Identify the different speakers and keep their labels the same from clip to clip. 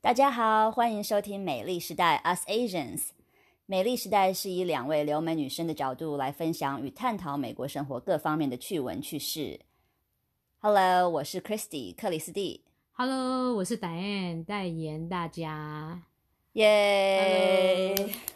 Speaker 1: 大家好，欢迎收听美丽时代 Us Asians。美丽时代是以两位留美女生的角度来分享与探讨美国生活各方面的趣闻趣事。Hello， 我是 Christy 克里斯蒂。
Speaker 2: Hello， 我是 Diane 代言大家。
Speaker 1: 耶！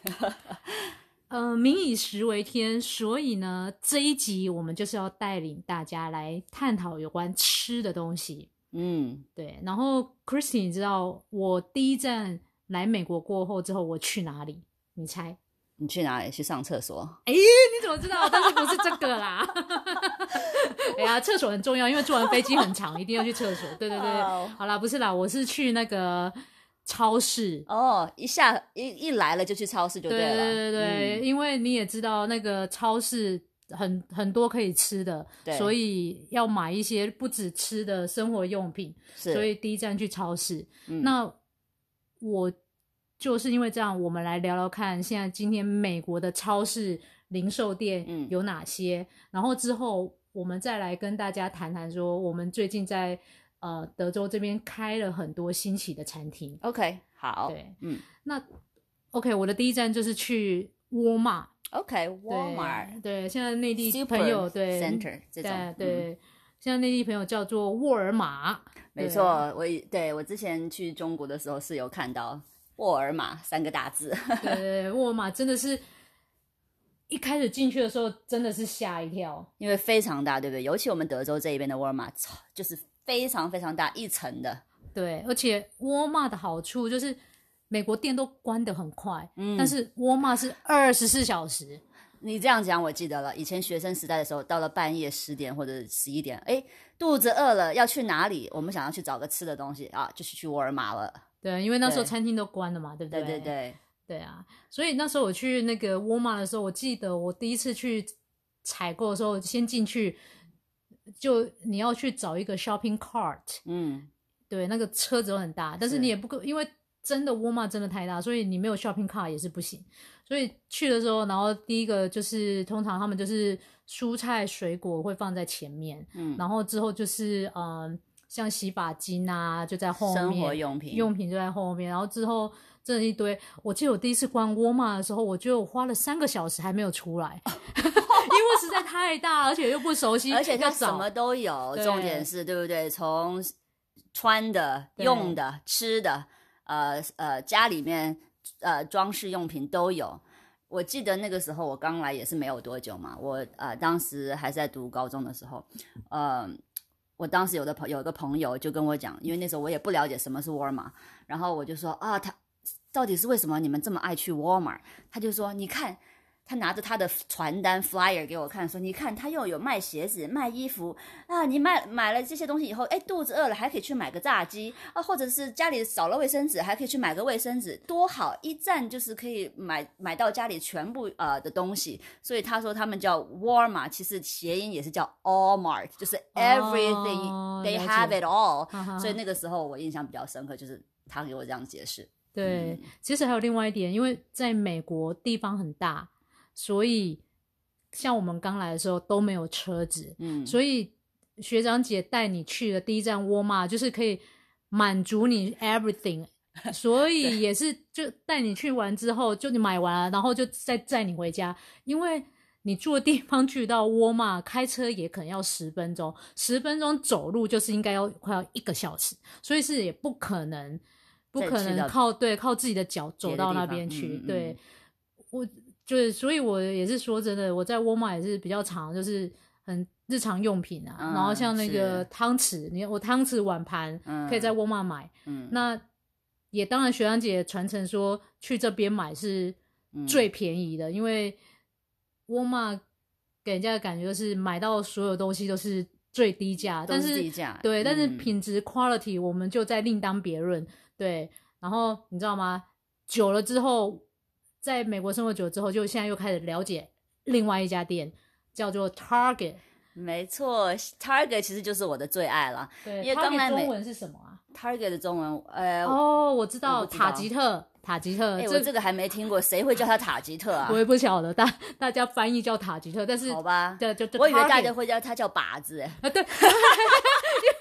Speaker 2: 民以食为天，所以呢，这一集我们就是要带领大家来探讨有关吃的东西。对。然后 Christy， 你知道我第一站来美国过后之后，我去哪里？你猜？
Speaker 1: 你去哪里？去上厕所？
Speaker 2: 你怎么知道？但是不是这个啦。哎呀，厕所很重要，因为坐完飞机很长，一定要去厕所。对对对，好啦，不是啦，我是去那个超市。
Speaker 1: 一来了就去超市就对了。
Speaker 2: 对对对，因为你也知道那个超市很多可以吃的，所以要买一些不止吃的生活用品，所以第一站去超市。那我就是因为这样，我们来聊聊看现在今天美国的超市零售店有哪些，然后之后我们再来跟大家谈谈说我们最近在德州这边开了很多新奇的餐厅。
Speaker 1: OK， 好。
Speaker 2: 对，那 OK， 我的第一站就是去沃尔玛。
Speaker 1: OK， Walmart。
Speaker 2: 对，现在内地朋友对
Speaker 1: Center 这种。
Speaker 2: 对，现在内地朋友叫做沃尔玛。
Speaker 1: 没错，我之前去中国的时候是有看到沃尔玛3个大字。
Speaker 2: 对，沃尔玛真的是一开始进去的时候真的是吓一跳，
Speaker 1: 因为非常大，对不对？尤其我们德州这一边的沃尔玛就是非常非常大，一层的。
Speaker 2: 对，而且沃尔玛的好处就是美国店都关得很快，但是沃尔玛是24小时。
Speaker 1: 你这样讲我记得了，以前学生时代的时候，到了半夜10点或者11点，肚子饿了要去哪里？我们想要去找个吃的东西啊，就是去沃尔玛了。
Speaker 2: 对，因为那时候餐厅都关了嘛，对不对？
Speaker 1: 对对对
Speaker 2: 对啊，所以那时候我去那个沃尔玛的时候，我记得我第一次去采购的时候，先进去就你要去找一个 shopping cart。对，那个车子都很大，但是你也不因为真的沃尔玛真的太大，所以你没有 shopping cart 也是不行。所以去的时候，然后第一个就是通常他们就是蔬菜水果会放在前面，然后之后就是像洗发精啊就在后面，
Speaker 1: 生活用品
Speaker 2: 就在后面，然后之后真的一堆。我记得我第一次逛沃尔玛的时候，我觉得我花了3个小时还没有出来。因为实在太大，而且又不熟悉，
Speaker 1: 而且它什么都有。重点是对不对？从穿的、用的、吃的，家里面装饰用品都有。我记得那个时候我刚来也是没有多久嘛，我当时还是在读高中的时候，我当时有一个朋友就跟我讲，因为那时候我也不了解什么是沃尔玛，然后我就说他到底是为什么你们这么爱去沃尔玛？他就说你看。他拿着他的传单 flyer 给我看，说你看他又有卖鞋子卖衣服啊，你买了这些东西以后，肚子饿了还可以去买个炸鸡啊，或者是家里少了卫生纸还可以去买个卫生纸，多好，一站就是可以买到家里全部的东西。所以他说他们叫沃尔玛，其实谐音也是叫 all mart， 就是 everything they have it all。所以那个时候我印象比较深刻，就是他给我这样解释。
Speaker 2: 对，其实还有另外一点，因为在美国地方很大，所以像我们刚来的时候都没有车子，所以学长姐带你去的第一站沃尔玛就是可以满足你 everything。 所以也是就带你去完之后，就你买完了然后就再载你回家，因为你住的地方去到沃尔玛开车也可能要10分钟，10分钟走路就是应该要快要1个小时，所以是也不可能靠自己的脚走到那边去。对，我就是所以我也是说真的，我在沃尔玛也是比较常就是很日常用品啊，然后像那个汤匙，我汤匙碗盘可以在沃尔玛买，那也当然学长姐传承说去这边买是最便宜的，因为沃尔玛给人家的感觉就是买到所有东西都是最低价，
Speaker 1: 都是低价，
Speaker 2: 对，但是品质 quality 我们就再另当别论。对，然后你知道吗？久了之后，在美国生活久了之后，就现在又开始了解另外一家店，叫做 Target。
Speaker 1: 没错 ，Target 其实就是我的最爱了。
Speaker 2: 对，
Speaker 1: 因为刚来
Speaker 2: 中文是什么啊
Speaker 1: ？Target 的中文，
Speaker 2: 我知道，塔吉特。
Speaker 1: 我这个还没听过，谁会叫它塔吉特啊？
Speaker 2: 我也不晓得，大家翻译叫塔吉特，但是
Speaker 1: 好吧，
Speaker 2: 对，就
Speaker 1: 我以为大家会叫它叫靶子。
Speaker 2: 对，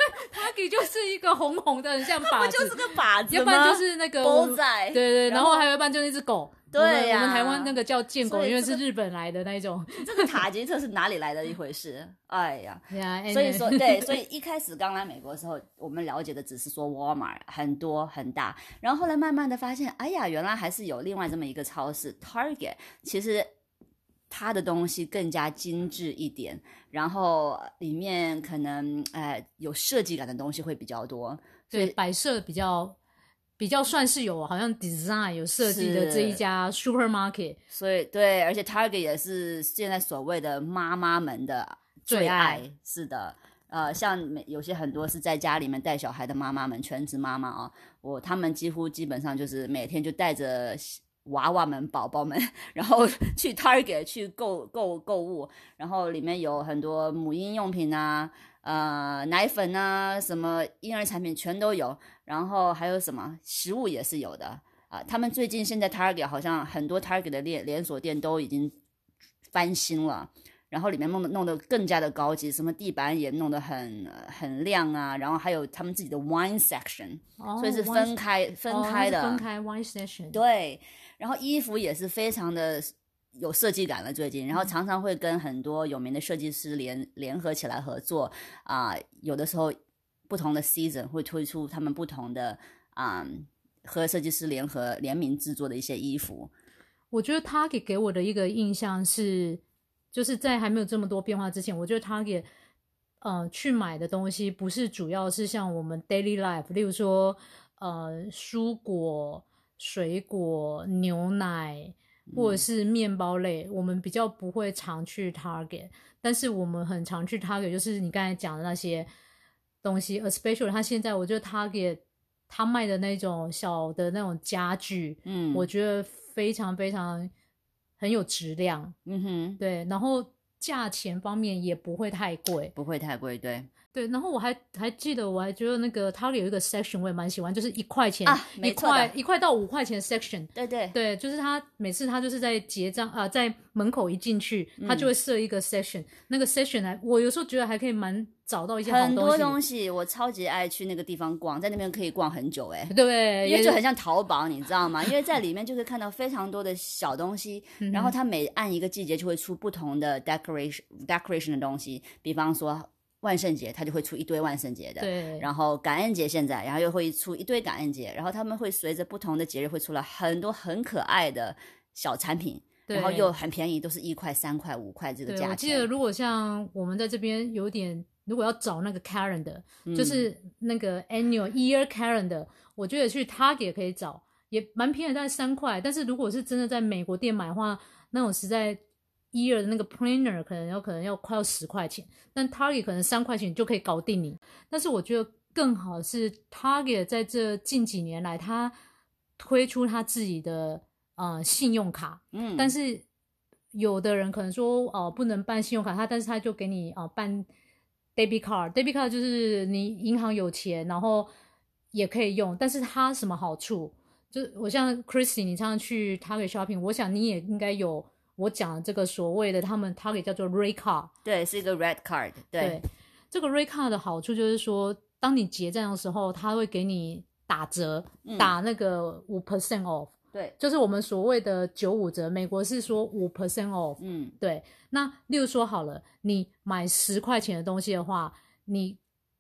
Speaker 2: Target 就是一个红红的很像靶子，
Speaker 1: 不就是个靶子吗？
Speaker 2: 要不然就是那个
Speaker 1: 狗仔，
Speaker 2: 对，然后还有一半就是一只狗。
Speaker 1: 对呀，
Speaker 2: 我们台湾那个叫贱狗，因为是日本来的那一种。
Speaker 1: 这个塔吉特是哪里来的一回事？哎呀，
Speaker 2: 所
Speaker 1: 以说对，所以一开始刚来美国的时候，我们了解的只是说 Walmart 很多很大，然后后来慢慢的发现，哎呀，原来还是有另外这么一个超市 Target， 其实它的东西更加精致一点，然后里面可能有设计感的东西会比较多，
Speaker 2: 对，摆设比较算是有好像 design 有设计的这一家 supermarket，
Speaker 1: 所以对，而且 Target 也是现在所谓的妈妈们的最爱，是的，像有些很多是在家里面带小孩的妈妈们，全职妈妈啊，他们基本上就是每天就带着娃娃们、宝宝们，然后去 Target 去购物，然后里面有很多母婴用品啊。奶粉啊，什么婴儿产品全都有，然后还有什么食物也是有的啊。他们最近现在 Target 好像很多 Target 的连锁店都已经翻新了，然后里面弄得更加的高级，什么地板也弄得很亮啊，然后还有他们自己的 wine section，所以是分开的，
Speaker 2: 分开 wine section，
Speaker 1: 对，然后衣服也是非常的。有设计感了最近，然后常常会跟很多有名的设计师联合起来合作有的时候不同的 season 会推出他们不同的和设计师联名制作的一些衣服。
Speaker 2: 我觉得 Target 给我的一个印象是，就是在还没有这么多变化之前，我觉得 Target去买的东西不是主要是像我们 daily life， 例如说蔬果、水果、牛奶或者是面包类，我们比较不会常去 Target， 但是我们很常去 Target， 就是你刚才讲的那些东西 especially 他现在我觉得 Target 他卖的那种小的那种家具，我觉得非常非常很有质量，对，然后价钱方面也不会太贵，对，然后我还记得，我还觉得那个 Target 有一个 section 我也蛮喜欢，就是1块钱1块到5块钱 section， 对，就是他每次他就是在结账在门口一进去，他就会设一个 section，那个 section 我有时候觉得还可以找到一些好东西，
Speaker 1: 很多东西，我超级爱去那个地方逛，在那边可以逛很久
Speaker 2: 对，
Speaker 1: 因为就很像淘宝，你知道吗？因为在里面就可以看到非常多的小东西，然后它每按一个季节就会出不同的 decoration 的东西，比方说。万圣节它就会出一堆万圣节的，
Speaker 2: 对，
Speaker 1: 然后感恩节现在，然后又会出一堆感恩节，然后他们会随着不同的节日会出来很多很可爱的小产品，然后又很便宜，都是1块、3块、5块这个价钱。
Speaker 2: 我记得如果像我们在这边有点，如果要找那个 calendar，就是那个 annual year calendar，我觉得去 Target 可以找，也蛮便宜，大概3块。但是如果是真的在美国店买的话，那种实在。year 的那个 planner 可能要快要10块钱，但 Target 可能3块钱就可以搞定你。但是我觉得更好是 Target 在这近几年来，他推出他自己的信用卡，但是有的人可能说不能办信用卡，但是他就给你办 debit card 就是你银行有钱，然后也可以用，但是它什么好处？就我像 Christy， 你常常去 Target shopping， 我想你也应该有。我讲的这个所谓的他们 Target 叫做 Red Card，
Speaker 1: 对，是一个 Red Card， 对，
Speaker 2: 这个 Red Card 的好处就是说，当你结账的时候，他会给你打折，打那个5% off，
Speaker 1: 对，
Speaker 2: 就是我们所谓的95折，美国是说5% off，对。那例如说好了，你买10块钱的东西的话，你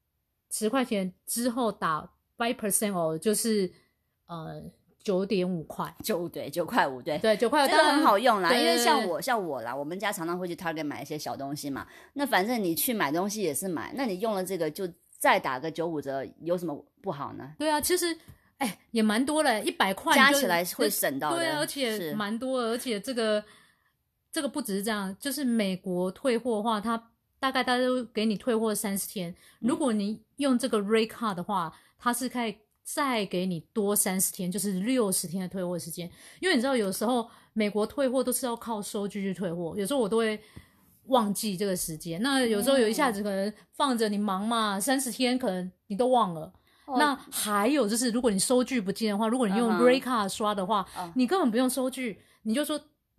Speaker 2: 10块钱之后打5% off， 就是9.5块
Speaker 1: ，9块5，对
Speaker 2: 9块5，
Speaker 1: 这个很好用啦。因为像我啦，我们家常常会去 Target 买一些小东西嘛。那反正你去买东西也是买，那你用了这个就再打个95折，有什么不好呢？
Speaker 2: 对啊，其实也蛮多了，100块
Speaker 1: 加起来会省到的。
Speaker 2: 对啊，而且蛮多的，而且这个不只是这样，就是美国退货的话，它大家都给你退货30天。如果你用这个 Red Card 的话，它是可以再给你多30天，就是60天的退货时间。因为你知道有时候美国退货都是要靠收据去退货，有时候我都会忘记这个时间，那有时候有一下子可能放着你忙嘛，30天可能你都忘了。那还有就是如果你收据不见的话，如果你用 Red Card 刷的话，你根本不用收据，你就说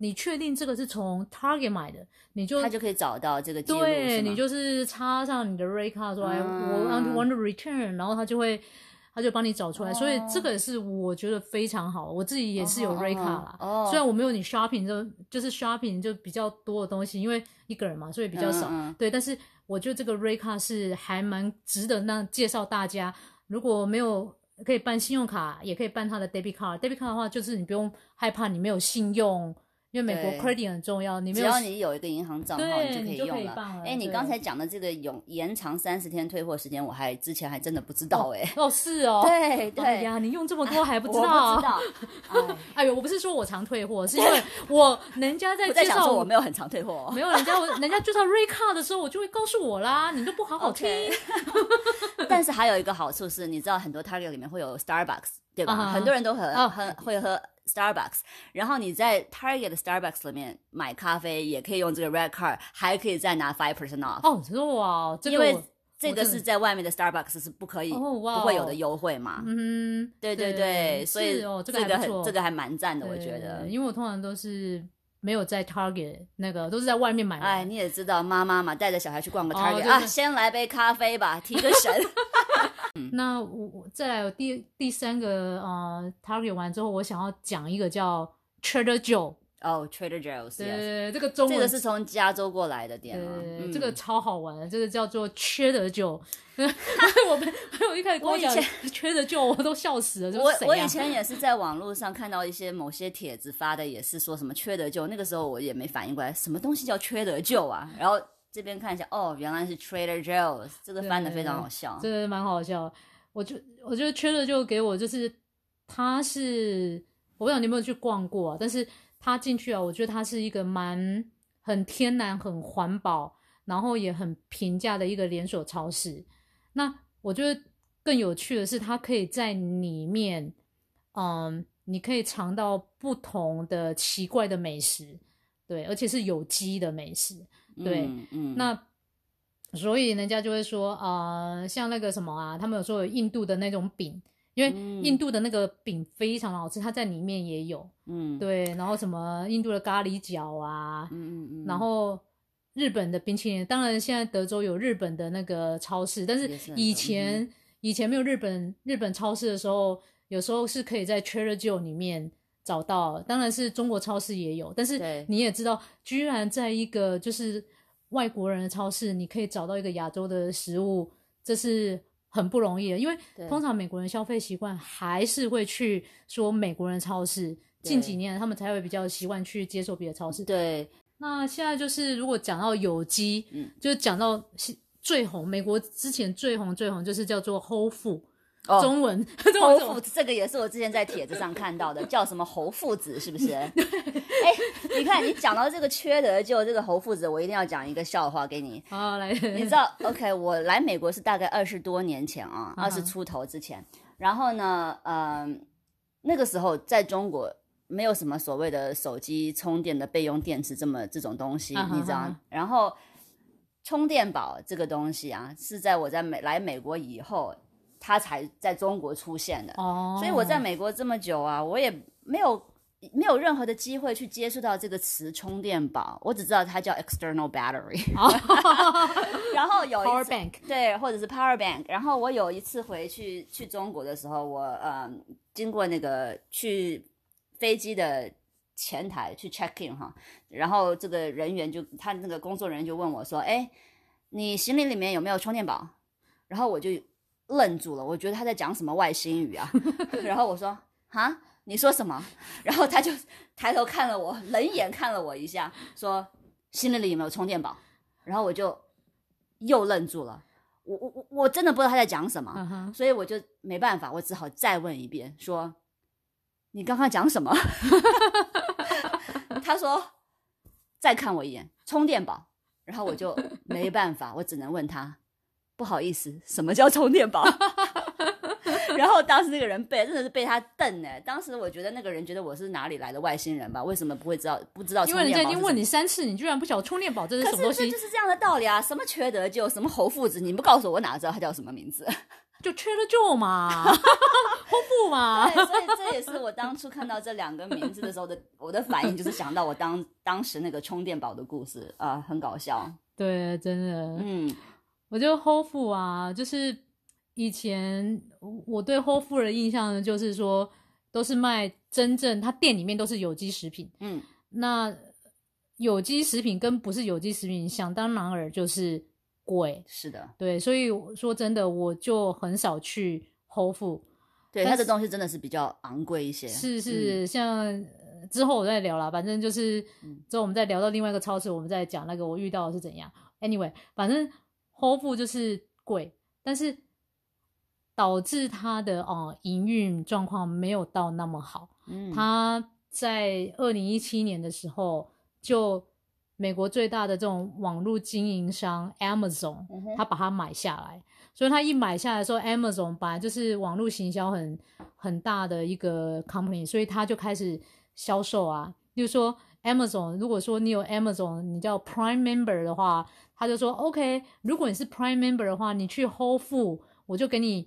Speaker 2: 你确定这个是从 Target 买的，
Speaker 1: 他就可以找到这个记录，
Speaker 2: 对，你就是插上你的 Rate Card 说，我 want to return， 然后他就帮你找出来，所以这个是我觉得非常好。我自己也是有 Rate Card 啦，虽然我没有你 shopping 就是 shopping 就比较多的东西，因为一个人嘛，所以比较少。对，但是我觉得这个 Rate Card 是还蛮值得介绍大家。如果没有可以办信用卡，也可以办他的 debit card。debit card 的话，就是你不用害怕你没有信用。因为美国 credit 很重要，只
Speaker 1: 要你有一个银行账号，
Speaker 2: 你就可以用了。
Speaker 1: 你刚才讲的这个延长30天退货时间，我之前还真的不知道
Speaker 2: 是哦，
Speaker 1: 对对，
Speaker 2: 哎呀，你用这么多还不知道？
Speaker 1: 我不知道。
Speaker 2: 哎呦，我不是说我常退货，是因为人家在介绍
Speaker 1: 我没有很常退货，
Speaker 2: 没有人家介绍 Rate Card 的时候，我就会告诉我啦，你都不好好听。
Speaker 1: 但是还有一个好处是，你知道很多 Target 里面会有 Starbucks， 对吧？很多人都会喝 Starbucks， 然后你在 Target 的 Starbucks 里面买咖啡也可以用这个 Red Card， 还可以再拿 5% off。
Speaker 2: 哇，
Speaker 1: 因为这个是在外面的 Starbucks 是不可以不会有的优惠嘛。对对对，所以这个还蛮赞的，我觉得。
Speaker 2: 因为我通常都是没有在 Target 都是在外面买。
Speaker 1: 你也知道妈妈嘛，带着小孩去逛个 Target，先来杯咖啡吧，提个神。
Speaker 2: 那我再来有第三个Target 完之后，我想要讲一个叫 Trader Joe。
Speaker 1: Trader Joe's，
Speaker 2: 对，这个中文
Speaker 1: 这个是从加州过来的店
Speaker 2: 这个超好玩的，这个叫做 Trader Joe。我一开始跟我讲 Trader Joe， 我都笑死了。
Speaker 1: 我以前也是在网络上看到某些帖子发的，也是说什么 Trader Joe， 那个时候我也没反应过来，什么东西叫 Trader Joe 啊？然后这边看一下，原来是 Trader Joe's， 这个翻得非常好笑，
Speaker 2: 这个蛮好笑。我觉得 Trader Joe 给我就是他是，我不知道你有没有去逛过但是他进去我觉得他是一个很天然、很环保，然后也很平价的一个连锁超市。那我觉得更有趣的是，它可以在里面，你可以尝到不同的奇怪的美食，对，而且是有机的美食，对，那所以人家就会说，像那个什么他们有说有印度的那种饼。因为印度的那个饼非常好吃，它在里面也有，对，然后什么印度的咖喱饺然后日本的冰淇淋，当然现在德州有日本的那个超市，但是以前没有日本超市的时候，有时候是可以在 Trader Joe 里面找到，当然是中国超市也有，但是你也知道，居然在一个就是外国人的超市，你可以找到一个亚洲的食物，这是很不容易的，因为通常美国人消费习惯还是会去说美国人超市，近几年他们才会比较习惯去接受别的超市。
Speaker 1: 对，
Speaker 2: 那现在就是如果讲到有机，就是讲到最红，美国之前最红就是叫做 Whole Foods。中文
Speaker 1: 侯父子，这个也是我之前在帖子上看到的，叫什么侯父子是不是？你看你讲到这个缺德就这个侯父子，我一定要讲一个笑话给你。
Speaker 2: 来，
Speaker 1: 你知道 OK 我来美国是大概20多年前20出头之前，然后呢那个时候在中国没有什么所谓的手机充电的备用电池这种东西，你知道，然后充电宝这个东西是在我来美国以后它才在中国出现的，所以我在美国这么久我也没有任何的机会去接触到这个词充电宝，我只知道它叫 external battery，然后有一次
Speaker 2: power bank，
Speaker 1: 对，或者是 power bank， 然后我有一次回去中国的时候，我经过那个去飞机的前台去 check in 然后这个人员他那个工作人员就问我说，你行李里面有没有充电宝？然后我就愣住了，我觉得他在讲什么外星语然后我说你说什么？然后他就抬头看了我，冷眼看了我一下，说行李里有没有充电宝？然后我就又愣住了，我真的不知道他在讲什么，所以我就没办法，我只好再问一遍，说你刚刚讲什么？他说再看我一眼，充电宝。然后我就没办法，我只能问他，不好意思，什么叫充电宝？然后当时那个人真的是被他瞪当时我觉得那个人觉得我是哪里来的外星人吧，为什么不知道充电宝？
Speaker 2: 因为人家已经问你3次，你居然不晓得充电宝这是什么东西？
Speaker 1: 可是这就是这样的道理什么缺德就什么侯父子，你不告诉我哪知道他叫什么名字？
Speaker 2: 就 Trader Joe 嘛，Whole Foods 嘛。
Speaker 1: 对，所以这也是我当初看到这两个名字的时候我的反应，就是想到我当时那个充电宝的故事啊，很搞笑。
Speaker 2: 对，真的，我觉得 Whole Foods 啊，就是以前我对 Whole Foods 的印象呢，就是说都是卖真正，它店里面都是有机食品。那有机食品跟不是有机食品，想当然尔就是贵。
Speaker 1: 是的，
Speaker 2: 对，所以说真的，我就很少去 Whole Foods。
Speaker 1: 对，它的东西真的是比较昂贵一些。
Speaker 2: 是，像之后我再聊啦，反正就是之后我们再聊到另外一个超市，我们再讲那个我遇到的是怎样。Anyway， 反正 Whole Foods 就是贵，但是导致它的营运状况没有到那么好。它在2017年的时候，就美国最大的这种网络经营商 Amazon，他把它买下来。所以他一买下来的时候 Amazon 本来就是网络行销很大的一个 company， 所以他就开始销售啊。例如说 Amazon， 如果说你有 Amazon 你叫 Prime Member 的话，他就说 OK， 如果你是 Prime Member 的话，你去 Whole Foods 我就给你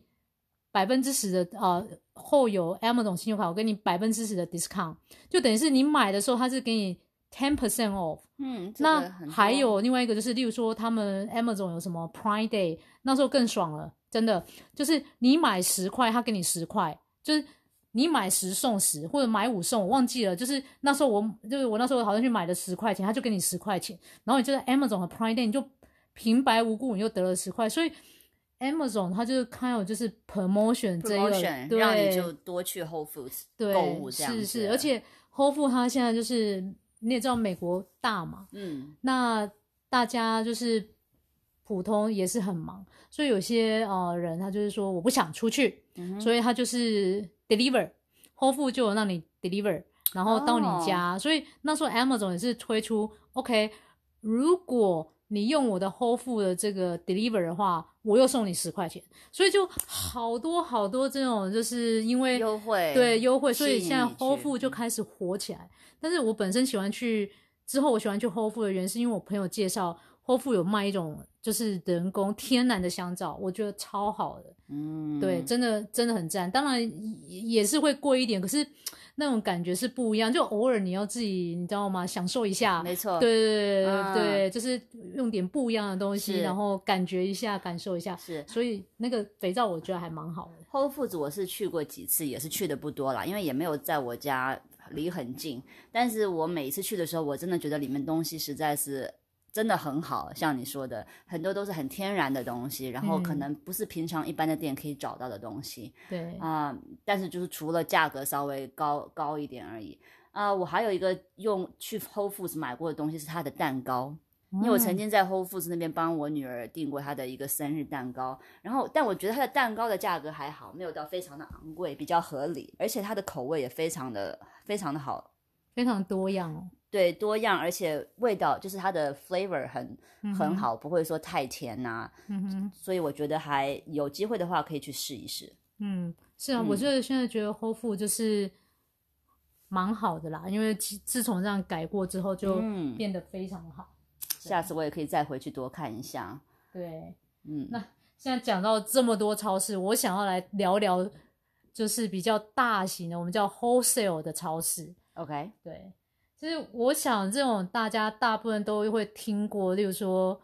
Speaker 2: 10%的后有 Amazon 信用卡，我给你10%的 discount， 就等于是你买的时候他是给你 10% off。那还有另外一个就是，例如说他们 Amazon 有什么 Prime Day， 那时候更爽了，真的就是你买10块他给你10块，就是你买10送10或者买5送，我忘记了，就是那时候我那时候好像去买了10块钱，他就给你10块钱，然后你就在 Amazon 的 Prime Day 你就平白无故你就得了10块，所以 Amazon 它就是看有就是 promotion 这个，对，
Speaker 1: 让你就多去 Whole Foods 购物这样子。
Speaker 2: 是，而且 Whole Foods 它现在就是你也知道美国大嘛，那大家就是普通也是很忙，所以有些人他就是说我不想出去，所以他就是 deliver， Whole Foods 就有让你 deliver， 然后到你家，所以那时候 Amazon 也是推出 OK， 如果你用我的 Whole Foods 的这个 deliver 的话，我又送你10块钱，所以就好多这种就是因为
Speaker 1: 优惠，
Speaker 2: 对优惠，所以现在 Whole Foods 就开始火起来。但是我本身喜欢去Whole Foods 的原因是因为我朋友介绍 Whole Foods 有卖一种就是人工天然的香皂，我觉得超好的。对，真的很赞。当然也是会贵一点，可是那种感觉是不一样，就偶尔你要自己你知道吗，享受一下。
Speaker 1: 没错，
Speaker 2: 对，就是用点不一样的东西，然后感觉一下感受一下。
Speaker 1: 是，
Speaker 2: 所以那个肥皂我觉得还蛮好的。
Speaker 1: Whole Foods 我是去过几次，也是去的不多啦，因为也没有在我家离很近，但是我每一次去的时候，我真的觉得里面东西实在是真的很好，像你说的，很多都是很天然的东西，然后可能不是平常一般的店可以找到的东西。
Speaker 2: 对
Speaker 1: 但是就是除了价格稍微高一点而已。我还有一个去 Whole Foods 买过的东西是它的蛋糕。因为我曾经在 Whole Foods 那边帮我女儿订过她的一个生日蛋糕，但我觉得她的蛋糕的价格还好，没有到非常的昂贵，比较合理，而且它的口味也非常的好，
Speaker 2: 非常多样哦。
Speaker 1: 对，多样，而且味道就是它的 flavor 很好，不会说太甜啊。所以我觉得还有机会的话可以去试一试。
Speaker 2: 是啊，我现在觉得 Whole Foods 就是蛮好的啦，因为自从这样改过之后就变得非常好。
Speaker 1: 下次我也可以再回去多看一下。
Speaker 2: 对，那现在讲到这么多超市，我想要来聊聊就是比较大型的，我们叫 wholesale 的超市。
Speaker 1: OK，
Speaker 2: 对，就是我想这种大家大部分都会听过，例如说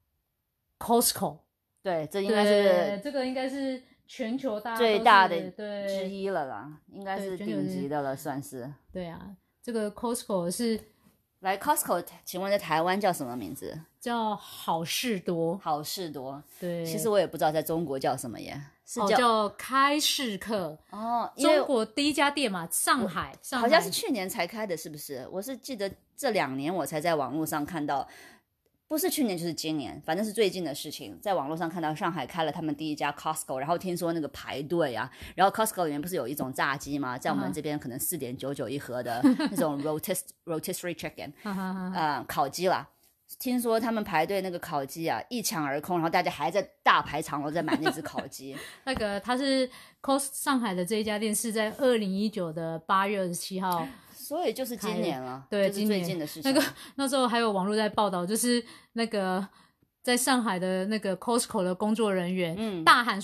Speaker 2: Costco。
Speaker 1: 对，这
Speaker 2: 应该是全球大家
Speaker 1: 最大的之一了啦，应该是顶级的了，算是。
Speaker 2: 对啊，这个 Costco 是。
Speaker 1: 来 Costco， 请问在台湾叫什么名字？
Speaker 2: 叫好事多。
Speaker 1: 好事多，
Speaker 2: 对。
Speaker 1: 其实我也不知道在中国叫什么耶，是
Speaker 2: 叫开市客。中国第一家店嘛，上海
Speaker 1: 好像是去年才开的，是不是？我是记得这2年我才在网络上看到。不是去年就是今年，反正是最近的事情，在网络上看到上海开了他们第一家 Costco， 然后听说那个排队啊，然后 Costco 里面不是有一种炸鸡吗？在我们这边可能4.99一盒的那种 rotisserie chicken， 烤鸡啦。听说他们排队那个烤鸡啊一抢而空，然后大家还在大排长龙在买那只烤鸡。
Speaker 2: 那个它是 上海的这一家店是在2019的8月27号。
Speaker 1: 所以就是今年了，
Speaker 2: 对，
Speaker 1: 就是最近的事情。
Speaker 2: 那时候还有网络在报道，就是那个在上海的那个 Costco 的工作人员大喊说：“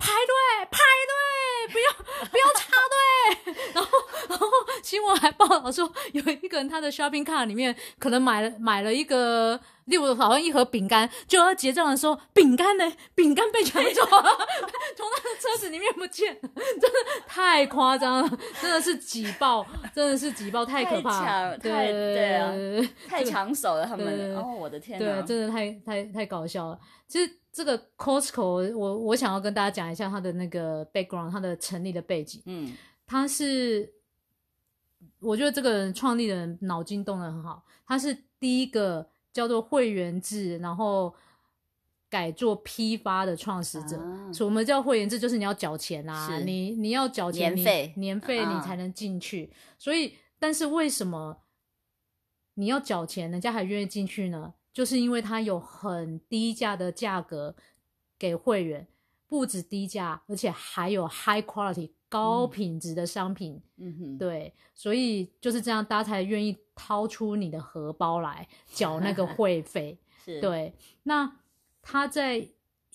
Speaker 2: 排队，不要插队。然后新闻还报道说，有一个人他的 shopping cart 里面可能买了一个，例如好像一盒饼干，就要结账的时候，饼干被抢走了，从他的车子里面不见了，真的太夸张了，真的是挤爆，太可怕了，
Speaker 1: 对啊，太抢手了，他们我的天哪，
Speaker 2: 对，真的太搞笑了。其实这个 Costco 我想要跟大家讲一下它的那个 background， 它的成立的背景。他是我觉得这个人创立的人脑筋动得很好，他是第一个叫做会员制然后改做批发的创始者。所以我们叫会员制就是你要缴钱啊，你要缴钱，年费你才能进去。所以但是为什么你要缴钱人家还愿意进去呢？就是因为它有很低价的价格给会员，不止低价，而且还有 high quality 高品质的商品。对，所以就是这样大家才愿意掏出你的荷包来缴那个会费。对，那他在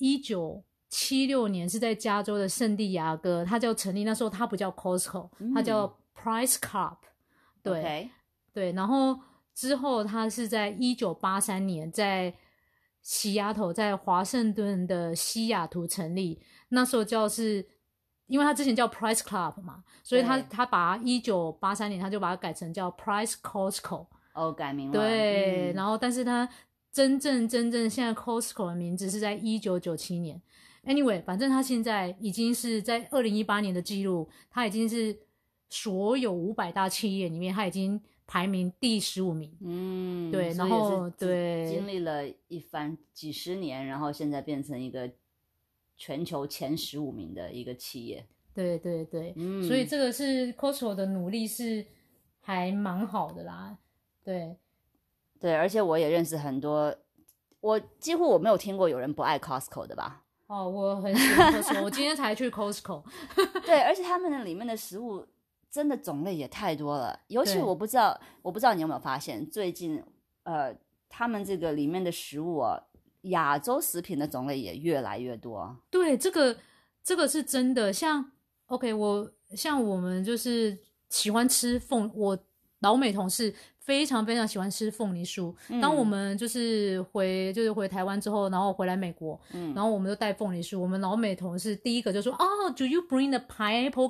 Speaker 2: 1976年是在加州的圣地亚哥，他就成立，那时候他不叫 Costco，他叫 Price Club。对，对，然后之后他是在1983年在西雅图，在华盛顿的西雅图成立，那时候因为他之前叫 Price Club 嘛，所以他把1983年他就把它改成叫 Price Costco。
Speaker 1: 改名了。
Speaker 2: 对，然后但是他真正现在 Costco 的名字是在1997年。Anyway， 反正他现在已经是在2018年的记录，他已经是所有500大企业里面，他已经排名第15名。对，然后对，
Speaker 1: 经历了一番几十年，然后现在变成一个全球前15名的一个企业。
Speaker 2: 对，所以这个是 Costco 的努力是还蛮好的啦。对，
Speaker 1: 而且我也认识很多，几乎我没有听过有人不爱 Costco 的吧。
Speaker 2: 我很喜欢 Costco， 我今天才去 Costco。
Speaker 1: 对，而且他们的里面的食物真的种类也太多了，尤其我不知道你有没有发现，最近他们这个里面的食物亚洲食品的种类也越来越多。
Speaker 2: 对，这个是真的。像 OK， 像我们就是喜欢吃我老美同事非常非常喜欢吃凤梨酥。当我们就是回台湾之后，然后回来美国，然后我们就带凤梨酥，我们老美同事第一个就说do you bring the pineapple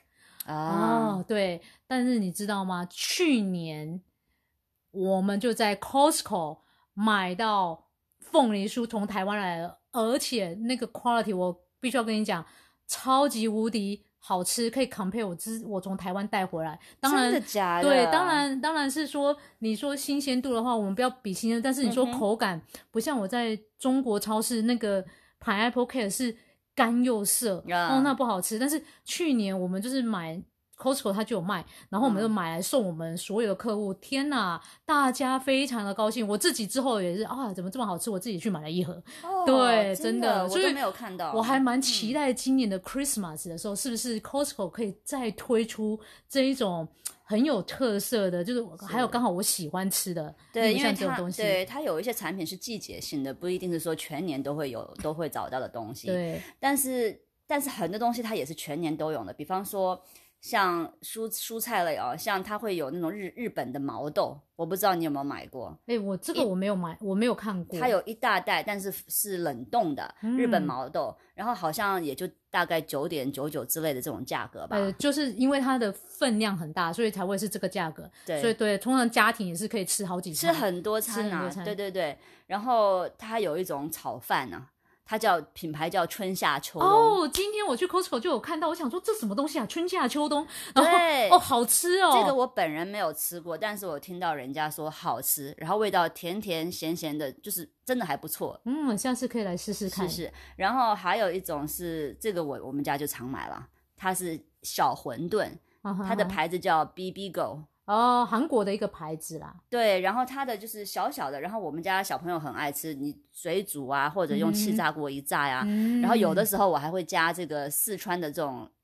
Speaker 2: cake？对，但是你知道吗？去年我们就在 Costco 买到凤梨酥从台湾来了，而且那个 quality 我必须要跟你讲，超级无敌好吃，可以 compare 我从台湾带回来。当然，
Speaker 1: 真的假的？
Speaker 2: 对，当然是说你说新鲜度的话，我们不要比新鲜，但是你说口感，不像我在中国超市那个 pineapple cake 是干又涩，那不好吃。但是去年我们就是买 Costco 它就有卖，然后我们就买来送我们所有的客户。天哪，大家非常的高兴。我自己之后也是怎么这么好吃，我自己去买了一盒。对，真的，
Speaker 1: 我都没有看到。
Speaker 2: 我还蛮期待今年的 Christmas 的时候，是不是 Costco 可以再推出这一种很有特色的，就是还有刚好我喜欢吃的，
Speaker 1: 对，因为
Speaker 2: 这种东西。
Speaker 1: 对，它有一些产品是季节性的，不一定是说全年都会找到的东西。
Speaker 2: 对，
Speaker 1: 但是很多东西它也是全年都有的，比方说像蔬菜类像它会有那种日本的毛豆，我不知道你有没有买过。
Speaker 2: 我这个我没有买，我没有看过。
Speaker 1: 它有一大袋，但是是冷冻的日本毛豆，然后好像也就大概9.99之类的这种价格吧。
Speaker 2: 就是因为它的分量很大，所以才会是这个价格。对，所以对，通常家庭也是可以吃好几餐，
Speaker 1: 吃很多餐啊。对。然后它有一种炒饭啊，它品牌叫春夏秋冬。
Speaker 2: 今天我去 Costco 就有看到，我想说这什么东西啊？春夏秋冬，
Speaker 1: 对，
Speaker 2: 好吃哦。
Speaker 1: 这个我本人没有吃过，但是我听到人家说好吃，然后味道甜甜咸咸的，就是真的还不错。
Speaker 2: 下次可以来试试看。
Speaker 1: 是。然后还有一种是这个我们家就常买了，它是小馄饨，它的牌子叫 Bibigo。
Speaker 2: 韩国的一个牌子啦。
Speaker 1: 对，然后它的就是小小的，然后我们家小朋友很爱吃，你水煮啊，或者用气炸锅一炸呀。然后有的时候我还会加这个四川的这种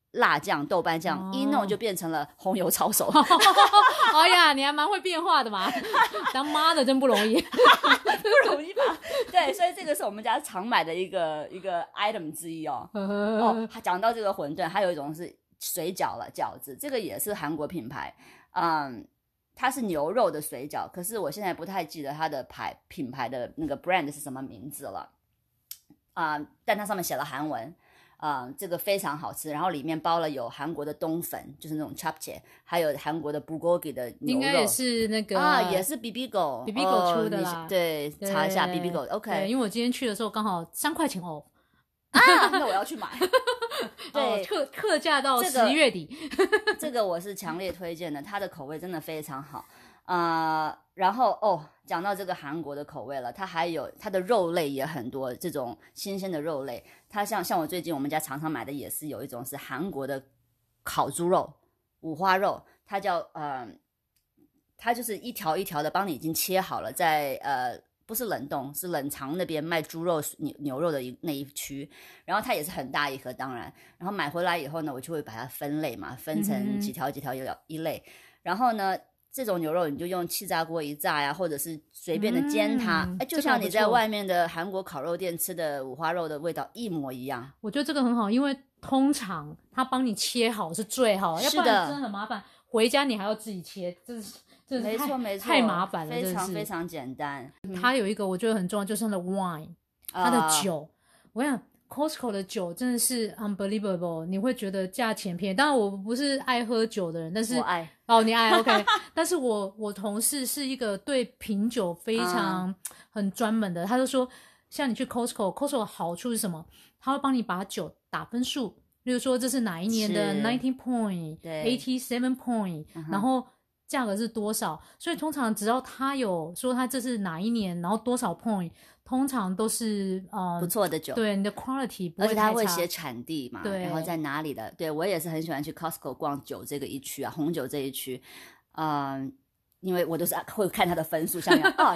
Speaker 1: 辣酱、豆瓣酱，一弄就变成了红油抄手。
Speaker 2: 哎呀，你还蛮会变化的嘛，当妈的真不容易。
Speaker 1: 不容易吧？对，所以这个是我们家常买的一个 item 之一哦。讲到这个馄饨，还有一种是水饺了，饺子，这个也是韩国品牌，它是牛肉的水饺，可是我现在不太记得它的品牌的那个 brand 是什么名字了，但它上面写了韩文。这个非常好吃，然后里面包了有韩国的冬粉，就是那种 chapchae， 还有韩国的 bulgogi 的牛肉，
Speaker 2: 应该也是那个
Speaker 1: 也是 bibigo
Speaker 2: 出的啦。
Speaker 1: 对，查一下 bibigo OK。
Speaker 2: 因为我今天去的时候刚好3块钱off。
Speaker 1: 那我要去买。对，
Speaker 2: 特价到11月底。
Speaker 1: 这个我是强烈推荐的，它的口味真的非常好。然后讲到这个韩国的口味了，它还有它的肉类也很多，这种新鲜的肉类，它像我最近我们家常常买的也是有一种是韩国的烤猪肉，五花肉，它叫它就是一条一条的帮你已经切好了，在不是冷冻，是冷藏那边卖猪肉牛肉的那一区，然后它也是很大一盒，当然，然后买回来以后呢，我就会把它分类嘛，分成几条几条一类，然后呢这种牛肉你就用气炸锅一炸呀，或者是随便的煎它，就像你在外面的韩国烤肉店吃的五花肉的味道一模一样。
Speaker 2: 我觉得这个很好，因为通常他帮你切好是最好，要不然真的很麻烦，回家你还要自己切，这
Speaker 1: 没错没错，
Speaker 2: 太麻烦了，
Speaker 1: 非常非常简单。
Speaker 2: 它有一个我觉得很重要，就是它的 wine， 它的酒。我想 Costco 的酒真的是 unbelievable， 你会觉得价钱便宜。当然我不是爱喝酒的人，但是
Speaker 1: 我爱
Speaker 2: 你爱 OK 但是我同事是一个对品酒非常很专门的，他就说像你去 Costco 的好处是什么？他会帮你把酒打分数，例如说这是哪一年的 19 point 87 point，然后价格是多少，所以通常只要他有说他这是哪一年，然后多少 point， 通常都是
Speaker 1: 不错的酒，
Speaker 2: 对，你的 quality 不会太差，
Speaker 1: 而且他会写产地嘛，
Speaker 2: 对，
Speaker 1: 然后在哪里的。对，我也是很喜欢去 Costco 逛酒这个一区啊，红酒这一区，因为我都是会看他的分数，像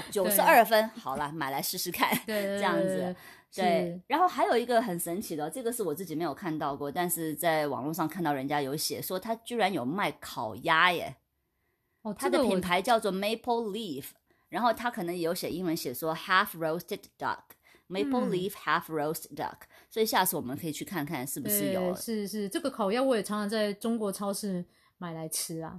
Speaker 1: 92分，好了，买来试试看，
Speaker 2: 对，
Speaker 1: 这样子。对，然后还有一个很神奇的，这个是我自己没有看到过，但是在网络上看到人家有写说他居然有卖烤鸭耶。它的品牌叫做 Maple Leaf， 然后它可能也有写英文写说 half roasted duck，Maple Leaf half roast duck，所以下次我们可以去看看是不是有。
Speaker 2: 是这个烤鸭我也常常在中国超市买来吃啊。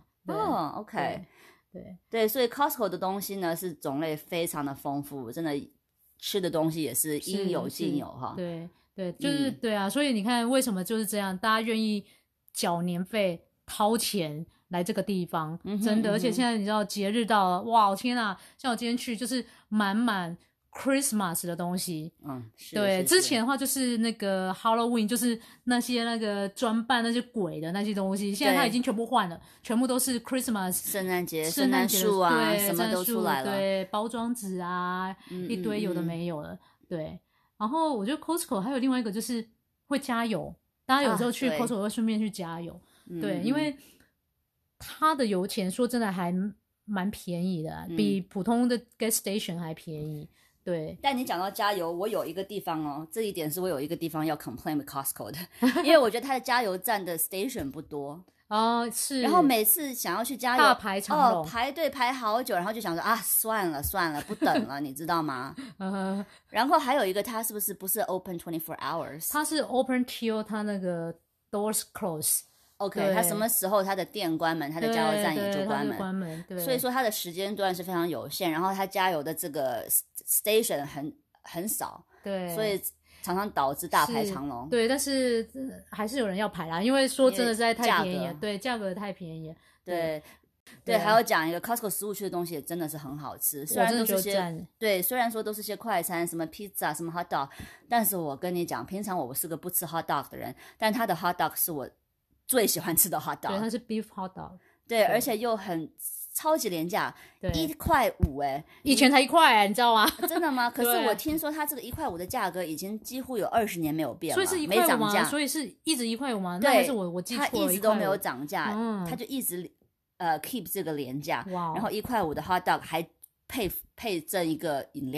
Speaker 1: OK， 对，所以 Costco 的东西呢是种类非常的丰富，真的吃的东西也是应有尽有哈。
Speaker 2: 对，就是对啊，所以你看为什么就是这样，大家愿意缴年费掏钱来这个地方，真的，而且现在你知道节日到了，哇，天啊！像我今天去就是满 Christmas 的东西，对，之前的话就是那个 Halloween， 就是那些那个装扮那些鬼的那些东西，现在它已经全部换了，全部都是 Christmas，
Speaker 1: 圣诞节圣诞树啊，
Speaker 2: 对，
Speaker 1: 什么都出来了，
Speaker 2: 对，包装纸啊，一堆有的没有了，对。然后我觉得 Costco 还有另外一个就是会加油，大家有时候去 Costco 会顺便去加油，对，因为它的油钱说真的还蛮便宜的，比普通的 gas station 还便宜。对，
Speaker 1: 但你讲到加油，我有一个地方这一点是我有一个地方要 complain with Costco 的，因为我觉得它的加油站的 station 不多
Speaker 2: 是，
Speaker 1: 然后每次想要去加油
Speaker 2: 大排长龙，
Speaker 1: 排队排好久，然后就想说算了不等了你知道吗？然后还有一个它是不是 open 24 hours，
Speaker 2: 它是 open till 它那个 doors close。OK，
Speaker 1: 它什么时候它的店关门，它的加油站也就关
Speaker 2: 门，对，
Speaker 1: 所以说它的时间段是非常有限，然后它加油的这个 station 很少，
Speaker 2: 对，
Speaker 1: 所以常常导致大排长龙。
Speaker 2: 对，但是还是有人要排啦，因为说真的实在太便宜了，对，价格太便宜了。
Speaker 1: 对，还要讲一个 Costco 食物区的东西也真的是很好吃，虽然都是些虽然说都是些快餐，什么 pizza 什么 hot dog， 但是我跟你讲，平常我是个不吃 hot dog 的人，但它的 hot dog 是我最喜欢吃的 hot dog，
Speaker 2: 对，它是 beef hot dog，
Speaker 1: 对，而且又很超级廉价，1.5块
Speaker 2: 以前才1块你知道吗？
Speaker 1: 真的吗？可是我听说它这个1.5块的价格已经几乎有20年没有变了，
Speaker 2: 所以是
Speaker 1: 没涨价，
Speaker 2: 所以是一直1.5块吗？
Speaker 1: 对，
Speaker 2: 那还是我记错了，
Speaker 1: 它一直都没有涨价，它就一直keep 这个廉价，然后1.5块的 hot dog 还配赠一个饮料。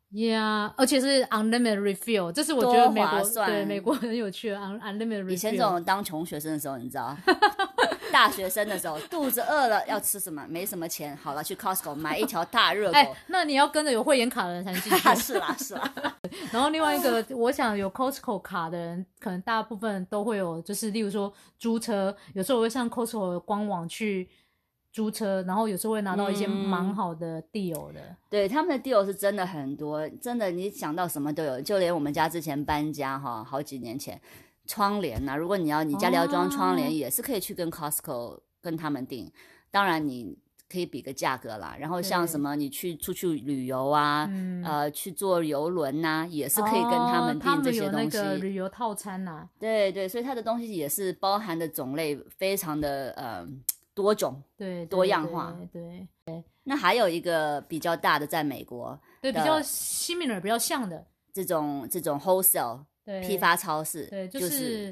Speaker 2: ，Yeah， 而且是 unlimited refill， 这是我觉得美国
Speaker 1: 多划算
Speaker 2: 对美国很有趣的 unlimited refill。
Speaker 1: 以前这种当穷学生的时候，你知道，大学生的时候肚子饿了要吃什么，没什么钱，好了去 Costco 买一条大热狗。
Speaker 2: 那你要跟着有会员卡的人才能进去。
Speaker 1: 是啦是啦。
Speaker 2: 然后另外一个，我想有 Costco 卡的人，可能大部分都会有，就是例如说租车，有时候我会上 Costco 的官网去租车，然后有时候会拿到一些蛮好的 deal 的。
Speaker 1: 对，他们的 deal 是真的很多，真的你想到什么都有，就连我们家之前搬家哈，好几年前，窗帘如果你家里要装窗帘，也是可以去跟 Costco 跟他们订，当然你可以比个价格啦。然后像什么你出去旅游啊，去坐游轮啊，也是可以跟他们订这些东西。
Speaker 2: 他们有那个旅游套餐啊。
Speaker 1: 对对，所以它的东西也是包含的种类非常的多种，
Speaker 2: 对，
Speaker 1: 多样化。
Speaker 2: 对。
Speaker 1: 那还有一个比较大的，在美国，
Speaker 2: 对，比较 similar 比较像的
Speaker 1: 这种 wholesale 批发超市，
Speaker 2: 对，就是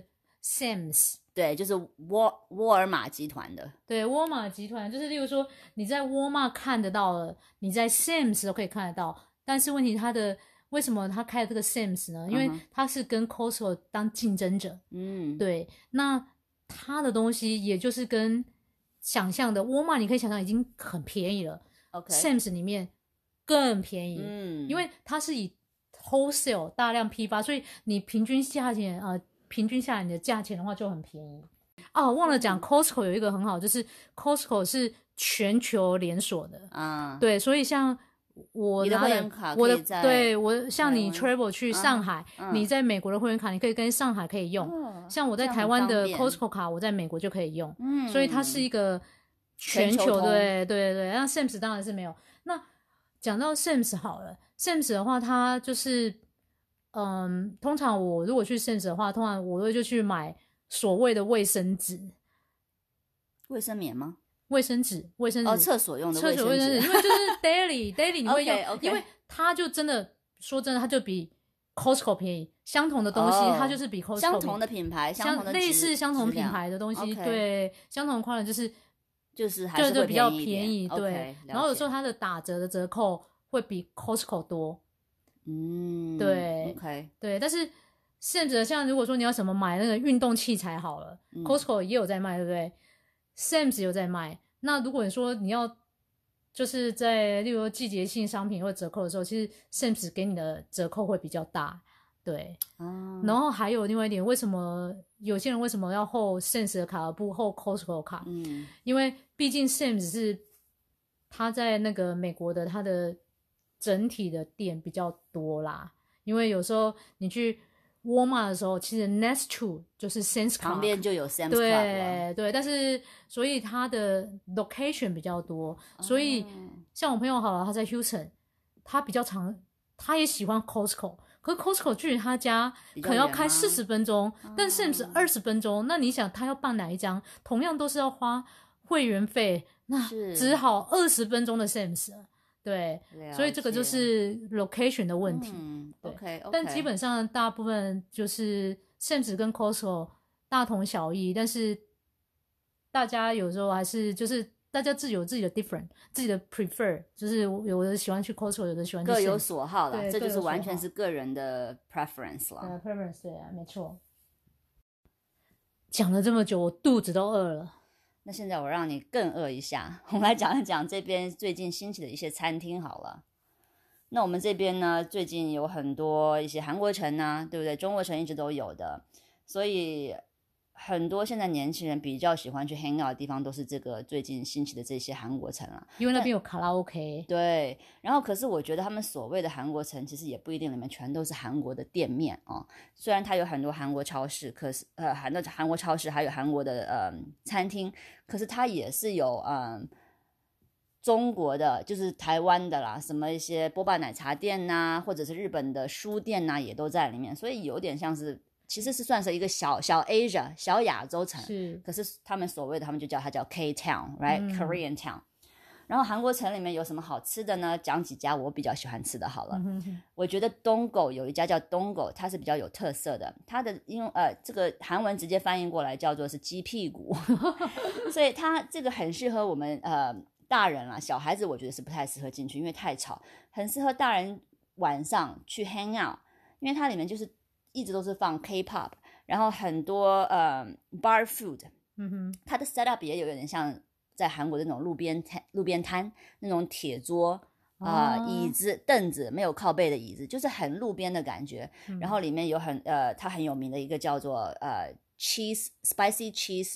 Speaker 2: Sam's，
Speaker 1: 对，就是沃尔玛集团的。
Speaker 2: 对，沃尔玛集团就是例如说你在沃尔玛看得到了，你在 Sam's 都可以看得到，但是问题为什么他开了这个 Sam's 呢？因为他是跟 Costco 当竞争者。对，那他的东西也就是跟想象的沃尔玛你可以想象已经很便宜了。Sam's 里面更便宜。因为它是以 wholesale 大量批发，所以你平均下来你的价钱的话就很便宜。忘了讲 Costco 有一个很好，就是 Costco 是全球连锁的。对，所以像我
Speaker 1: 你的会员卡
Speaker 2: 可以对我像你 travel 去上海，你在美国的会员卡你可以跟上海可以用。像我在台湾的 Costco 卡我在美国就可以用。所以它是一个全球。对，那 Sam's 当然是没有。那讲到 Sam's 好了， Sam's 的话它就是通常我如果去 Sam's 的话，通常我会就去买所谓的卫生纸。
Speaker 1: 卫生棉吗？
Speaker 2: 卫生纸
Speaker 1: 厕所用的卫生
Speaker 2: 纸，因为就是 daily 你会用。
Speaker 1: okay.
Speaker 2: 因为它就真的说真的，它就比 Costco 便宜，相同的东西它就是比 Costco 便宜，
Speaker 1: 相同的品牌，
Speaker 2: 类似相同品牌的东西。对，相同的款
Speaker 1: 就是还是会
Speaker 2: 比较便宜。
Speaker 1: 对，
Speaker 2: 然后有时候它的打折的折扣会比 Costco 多。对
Speaker 1: ，OK，
Speaker 2: 对，但是甚至像如果说你要什么买那个运动器材好了，Costco 也有在卖，对不对？Sam's 有在卖。那如果你说你要就是在例如说季节性商品或折扣的时候，其实 Sam's 给你的折扣会比较大。对，然后还有另外一点，为什么有些人为什么要hold Sam's 的卡而不hold Costco 的卡？因为毕竟 Sam's 是他在那个美国的他的整体的店比较多啦。因为有时候你去沃尔玛的时候，其实 next to 就是 Sam's
Speaker 1: 旁边就有 Sam's Club。
Speaker 2: 对，但是所以它的 location 比较多。所以像我朋友好了，他在 Houston， 他比较常，他也喜欢 Costco， 可是 Costco 距离他家可能要开40分钟，但 Sam's 20分钟。那你想他要办哪一张，同样都是要花会员费，那只好20分钟的 Sam's。对，所以这个就是 location 的问题。
Speaker 1: OK，
Speaker 2: 但基本上大部分就是 Sam's 跟 Costco 大同小异，但是大家有时候还是就是大家自己有自己的 different， 自己的 prefer， 就是有的喜欢去 Costco， 有的喜欢去 Sam's，
Speaker 1: 各有所好啦。这就是完全是个人的 preference 啦。
Speaker 2: preference， 对啊，没错。讲了这么久，我肚子都饿了。
Speaker 1: 那现在我让你更饿一下，我们来讲一讲这边最近兴起的一些餐厅好了。那我们这边呢，最近有很多一些韩国城啊，对不对？中国城一直都有的，所以很多现在年轻人比较喜欢去 hang out 的地方，都是这个最近兴起的这些韩国城啊。
Speaker 2: 因为那边有卡拉 OK。
Speaker 1: 对，然后可是我觉得他们所谓的韩国城，其实也不一定里面全都是韩国的店面哦。虽然它有很多韩国超市，可是韩国超市还有韩国的餐厅，可是它也是有中国的，就是台湾的啦，什么一些波霸奶茶店呐，或者是日本的书店呐，也都在里面，所以有点像是。其实是算是一个小 Asia 小亚洲城，可是他们所谓的他们就叫它叫 K Town，right，Korean Town。然后韩国城里面有什么好吃的呢？讲几家我比较喜欢吃的好了。我觉得东狗有一家叫东狗，它是比较有特色的，它的这个韩文直接翻译过来叫做是鸡屁股，所以它这个很适合我们大人啦，小孩子我觉得是不太适合进去，因为太吵，很适合大人。 晚上去 hang out，因为它里面就是一直都是放 K-pop， 然后很多bar food， 它的 setup 也有点像在韩国的那种路边摊那种铁桌椅子凳子，没有靠背的椅子，就是很路边的感觉。然后里面有它很有名的一个叫做spicy cheese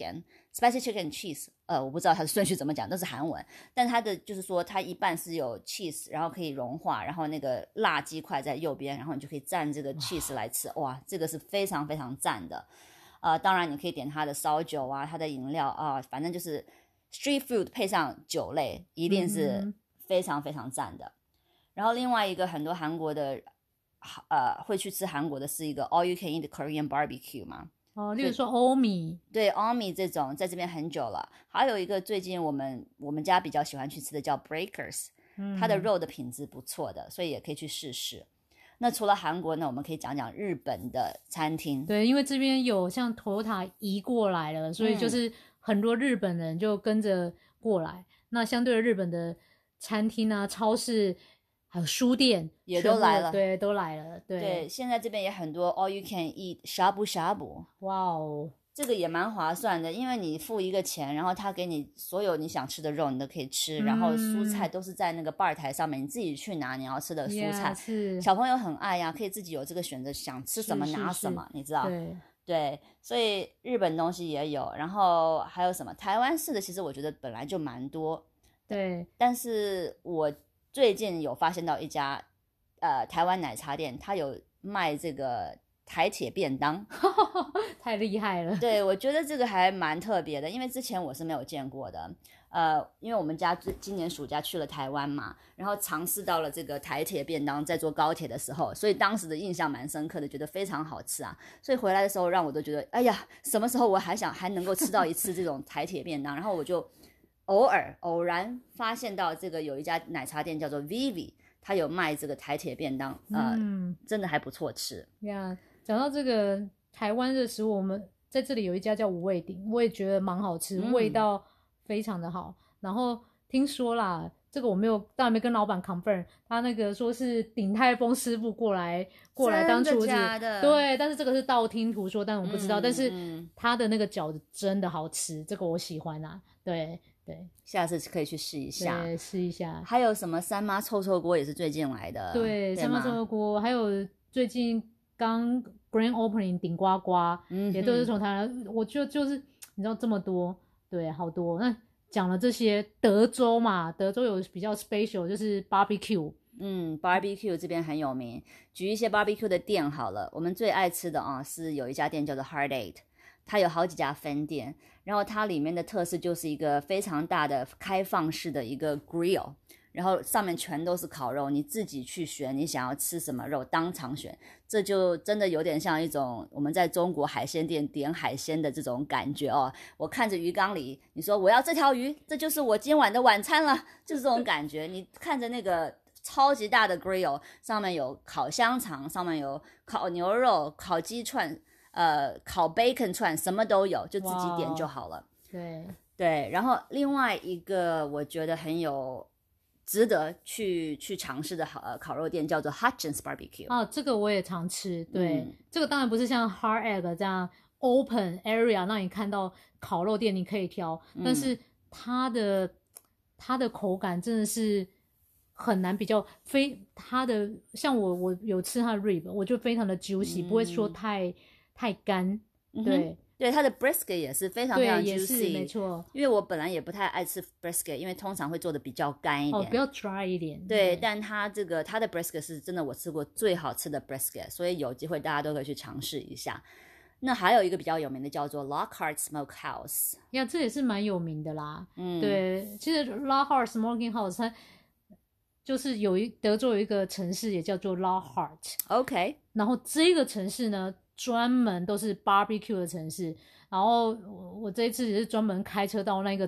Speaker 1: cheese， 我不知道它的顺序怎么讲，都是韩文。但它的就是说它一半是有 cheese， 然后可以融化，然后那个辣鸡块在右边，然后你就可以蘸这个 cheese 来吃。哇，这个是非常非常赞的。当然你可以点它的烧酒啊，它的饮料啊，反正就是 street food 配上酒类，一定是非常非常赞的。然后另外一个很多韩国的会去吃韩国的是一个 all you can eat Korean barbecue 嘛。
Speaker 2: 例如说欧米，
Speaker 1: 对，欧米这种在这边很久了。还有一个最近我们家比较喜欢去吃的叫 Breakers，它的肉的品质不错的，所以也可以去试试。那除了韩国呢，我们可以讲讲日本的餐厅。
Speaker 2: 对，因为这边有像 Toyota 移过来了，所以就是很多日本人就跟着过来。那相对的日本的餐厅啊、超市还有书店
Speaker 1: 也都来了，
Speaker 2: 对，都来了。
Speaker 1: 对，现在这边也很多 all you can eat shabu shabu。
Speaker 2: 哇哦，
Speaker 1: 这个也蛮划算的，因为你付一个钱，然后他给你所有你想吃的肉，你都可以吃，然后蔬菜都是在那个bar台上面，你自己去拿你要吃的蔬菜。小朋友很爱呀，可以自己有这个选择，想吃什么拿什么，你知道？对，所以日本东西也有，然后还有什么台湾式的，其实我觉得本来就蛮多。
Speaker 2: 对，
Speaker 1: 但是我最近有发现到一家台湾奶茶店，它有卖这个台铁便当。
Speaker 2: 太厉害了。
Speaker 1: 对，我觉得这个还蛮特别的，因为之前我是没有见过的。因为我们家今年暑假去了台湾嘛，然后尝试到了这个台铁便当，在坐高铁的时候，所以当时的印象蛮深刻的，觉得非常好吃啊。所以回来的时候让我都觉得，哎呀，什么时候我还能够吃到一次这种台铁便当？然后我就偶然发现到这个有一家奶茶店叫做 Vivi， 它有卖这个台铁便当，真的还不错吃
Speaker 2: 呀。讲到这个台湾的食物，我们在这里有一家叫五味鼎，我也觉得蛮好吃，味道非常的好。然后听说啦，这个我当然没跟老板 confirm， 他那个说是鼎泰丰师傅过来当厨子，对，但是这个是道听途说，但我不知道。但是他的那个饺子真的好吃，这个我喜欢啊，对，
Speaker 1: 下次可以去试一下。
Speaker 2: 对，试一下。
Speaker 1: 还有什么三妈臭臭锅也是最近来的，
Speaker 2: 对，三妈臭臭锅，还有最近刚 grand opening 顶呱呱，也都是从台湾。我就是你知道这么多，对，好多。那讲了这些，德州嘛，德州有比较 special 就是 barbecue。
Speaker 1: barbecue 这边很有名。举一些 barbecue 的店好了，我们最爱吃的是有一家店叫做 Hard Eight， 它有好几家分店，然后它里面的特色就是一个非常大的开放式的一个 grill， 然后上面全都是烤肉，你自己去选你想要吃什么肉，当场选。这就真的有点像一种我们在中国海鲜店点海鲜的这种感觉哦。我看着鱼缸里，你说我要这条鱼，这就是我今晚的晚餐了，就是这种感觉。你看着那个超级大的 grill， 上面有烤香肠，上面有烤牛肉、烤鸡串，烤 bacon 串，什么都有，就自己点就好了。对，然后另外一个我觉得很有值得去尝试的烤肉店叫做 Hutchins Barbecue。
Speaker 2: 这个我也常吃。对，这个当然不是像 Hard Egg 这样 open area 让你看到烤肉店你可以挑，但是它的口感真的是很难比较。它的像我有吃它的 rib， 我就非常的 juicy，不会说太干。
Speaker 1: 对，它的 brisket 也是非常非常 juicy，
Speaker 2: 也是没错。
Speaker 1: 因为我本来也不太爱吃 brisket， 因为通常会做的比较干一点，
Speaker 2: 比较 dry 一点。
Speaker 1: 对，但它的 brisket 是真的我吃过最好吃的 brisket， 所以有机会大家都可以去尝试一下。那还有一个比较有名的叫做 Lockhart Smokehouse，
Speaker 2: 这也是蛮有名的啦。对，其实 Lockhart Smokehouse 它就是德州有一个城市也叫做 Lockhart， 然后这个城市呢专门都是 barbecue 的城市，然后我这一次也是专门开车到那个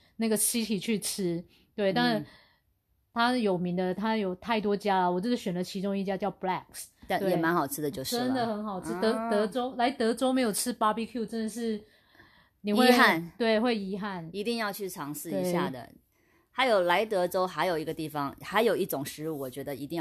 Speaker 2: city 去吃。对，但是它有名的它有太多家了，我这是选了其中一家叫 Blacks，
Speaker 1: 但也蛮好吃的，就是了，
Speaker 2: 真的很好吃。德州没有吃 barbecue 真的是你会
Speaker 1: 遗憾，
Speaker 2: 对，会遗憾，
Speaker 1: 一定要去尝试一下的。还有来德州还有一个地方，还有一种食物我觉得一定要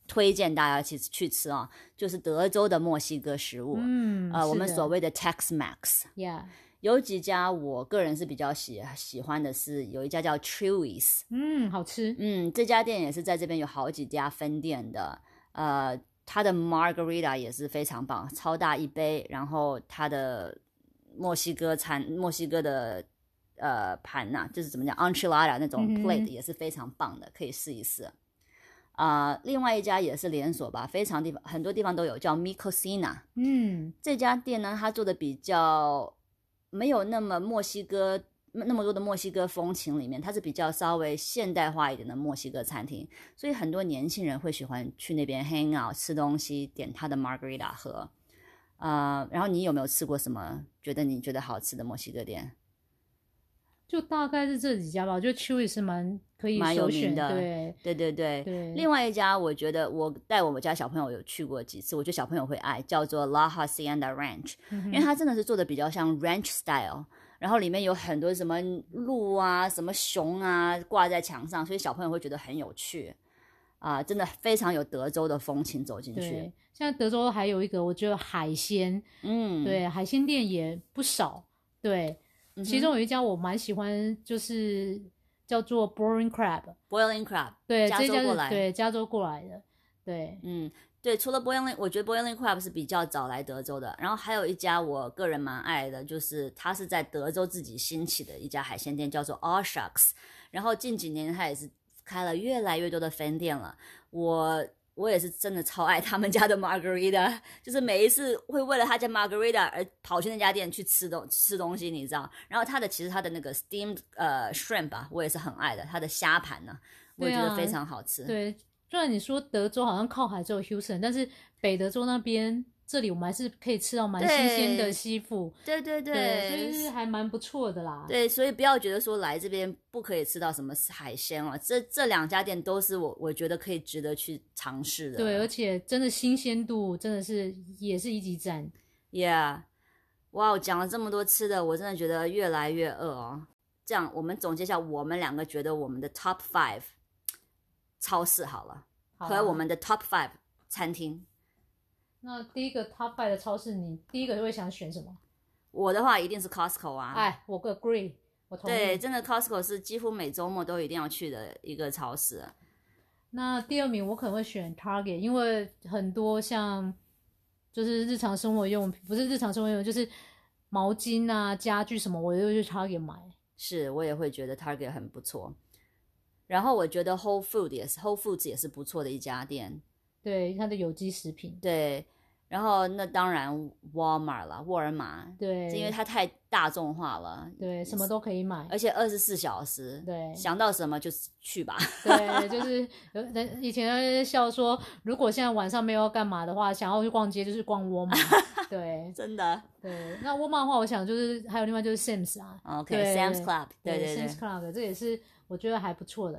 Speaker 1: 推荐大家去吃啊，就是德州的墨西哥食物，我们所谓的 Tex-Mex。有几家我个人是比较喜欢的是，有一家叫 Chuy's，
Speaker 2: 好吃，
Speaker 1: 这家店也是在这边有好几家分店的，它的 Margarita 也是非常棒，超大一杯，然后它的墨西哥的盘呐，就是怎么讲 enchilada 那种 plate 也是非常棒的，可以试一试。另外一家也是连锁吧，很多地方都有，叫 Mi Cocina。这家店呢，它做的比较没有那么多的墨西哥风情里面，它是比较稍微现代化一点的墨西哥餐厅，所以很多年轻人会喜欢去那边 hang out 吃东西，点它的 margarita 喝。然后你有没有吃过什么你觉得好吃的墨西哥店？
Speaker 2: 就大概是这几家吧，我觉得 Chewy 是蛮
Speaker 1: 有名的，
Speaker 2: 对。
Speaker 1: 另外一家我觉得我带我们家小朋友有去过几次，我觉得小朋友会爱，叫做 La Hacienda Ranch，因为它真的是做的比较像 ranch style， 然后里面有很多什么鹿啊、什么熊啊挂在墙上，所以小朋友会觉得很有趣真的非常有德州的风情走进去。
Speaker 2: 对，现在德州还有一个我觉得海鲜，对，海鲜店也不少，对。其中有一家我蛮喜欢，就是叫做 Boiling Crab，
Speaker 1: 对，
Speaker 2: 这家是加州过来的，对，
Speaker 1: 对，除了 我觉得 Boiling Crab 是比较早来德州的，然后还有一家我个人蛮爱的，就是它是在德州自己兴起的一家海鲜店，叫做 All Shucks， 然后近几年它也是开了越来越多的分店了，我也是真的超爱他们家的 Margarita， 就是每一次会为了他家 Margarita 而跑去那家店去吃东西，你知道。然后其实他的那个 steamed shrimp 吧，我也是很爱的，他的虾盘呢，我也觉得非常好吃。
Speaker 2: 对，虽然你说德州好像靠海只有 Houston， 但是北德州那边这里我们还是可以吃到蛮新鲜的西部，
Speaker 1: 对，
Speaker 2: 所以还蛮不错的啦。
Speaker 1: 对，所以不要觉得说来这边不可以吃到什么海鲜哦，这两家店都是我觉得可以值得去尝试的。
Speaker 2: 对，而且真的新鲜度真的是也是一级赞。
Speaker 1: Yeah， 哇，讲了这么多吃的，我真的觉得越来越饿哦。这样，我们总结一下，我们两个觉得我们的 Top 5超市好了，和我们的 Top 5餐厅。
Speaker 2: 那第一个 Top 5的超市，你第一个会想选什么？
Speaker 1: 我的话一定是 Costco 啊。
Speaker 2: 哎，我 agree， 我同意。
Speaker 1: 对，真的 Costco 是几乎每周末都一定要去的一个超市。
Speaker 2: 那第二名我可能会选 Target， 因为很多像就是日常生活用品，不是日常生活用品，就是毛巾啊、家具什么，我都会去 Target 买。
Speaker 1: 是，我也会觉得 Target 很不错。然后我觉得 Whole Foods 也是不错的一家店。
Speaker 2: 对，它的有机食品。
Speaker 1: 对，然后那当然 Walmart 啦，沃尔玛。
Speaker 2: 对，
Speaker 1: 因为它太大众化了。
Speaker 2: 对，什么都可以买，
Speaker 1: 而且24小时。
Speaker 2: 对，
Speaker 1: 想到什么就去吧。
Speaker 2: 对，就是以前在笑说，如果现在晚上没有要干嘛的话，想要去逛街就是逛沃尔玛。对，
Speaker 1: 真的。
Speaker 2: 对，那沃尔玛的话，我想就是还有另外就是 Sam's 啊。
Speaker 1: OK，Sam's Club， 对
Speaker 2: ，Sam's Club 这也是我觉得还不错的。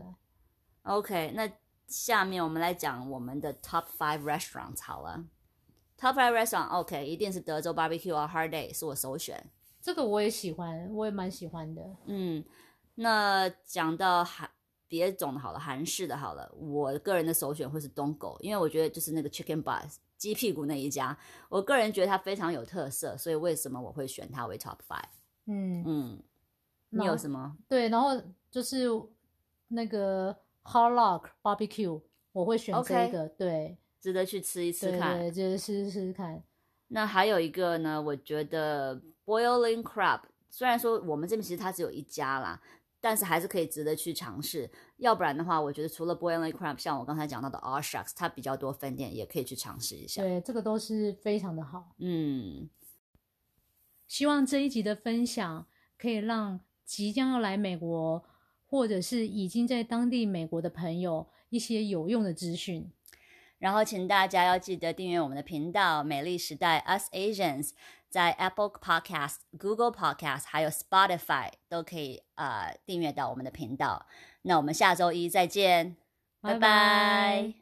Speaker 1: OK， 那下面我们来讲我们的 Top 5 Restaurants 好了。Top 5 Restaurant OK， 一定是德州 Barbecue or Hard Day 是我首选。
Speaker 2: 这个我也喜欢，我也蛮喜欢的。
Speaker 1: 那讲到别种的好了，韩式的好了，我个人的首选会是东狗，因为我觉得就是那个 Chicken Buzz 鸡屁股那一家，我个人觉得它非常有特色，所以为什么我会选它为 Top 5？你有什么？
Speaker 2: 对，然后就是那个 Hard Rock Barbecue， 我会选这个，对，
Speaker 1: 值得去吃一次看，
Speaker 2: 对，就是试试看。
Speaker 1: 那还有一个呢，我觉得 Boiling Crab， 虽然说我们这边其实它只有一家啦，但是还是可以值得去尝试。要不然的话，我觉得除了 Boiling Crab， 像我刚才讲到的 All Shucks， 它比较多分店，也可以去尝试一下。
Speaker 2: 对，这个都是非常的好。希望这一集的分享可以让即将要来美国，或者是已经在当地美国的朋友一些有用的资讯。
Speaker 1: 然后请大家要记得订阅我们的频道美丽时代 Us Asians， 在 Apple Podcast、Google Podcast 还有 Spotify 都可以订阅到我们的频道。那我们下周一再见，拜拜。